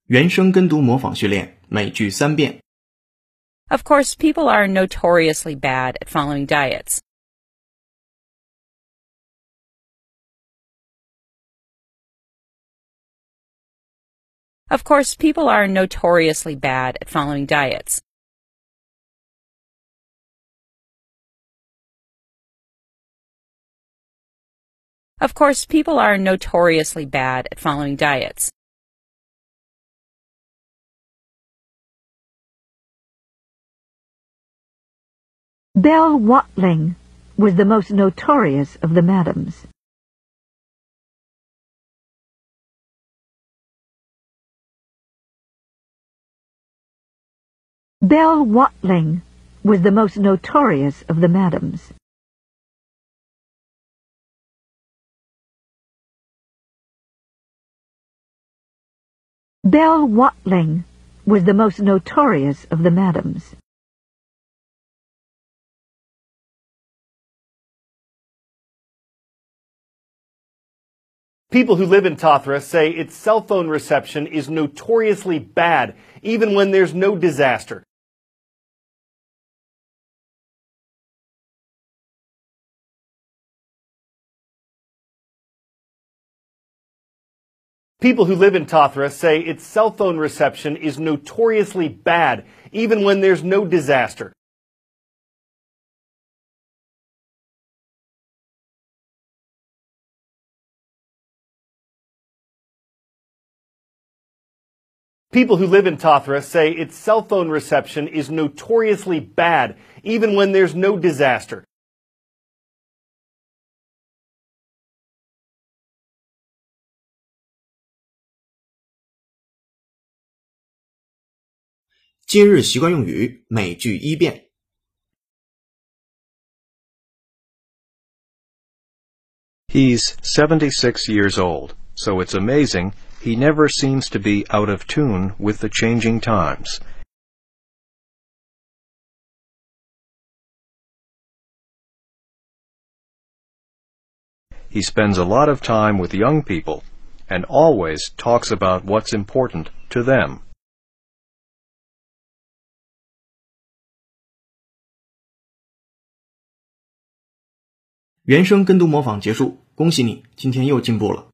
原声跟读模仿训练，每句3遍。 Of course, people are notoriously bad at following diets. Of course, people are notoriously bad at following diets. Of course, people are notoriously bad at following diets. Belle Watling was the most notorious of the madams. Belle Watling was the most notorious of the madams. Belle Watling was the most notorious of the madams. People who live in Tathra say its cell phone reception is notoriously bad, even when there's no disaster. People who live in Tathra say its cell phone reception is notoriously bad, even when there's no disaster. People who live in Tathra say its cell phone reception is notoriously bad, even when there's no disaster. 《今日习惯用语》每句1遍。 He's 76 years old, so it's amazing he never seems to be out of tune with the changing times. He spends a lot of time with young people and always talks about what's important to them. 原声跟读模仿结束，恭喜你，今天又进步了。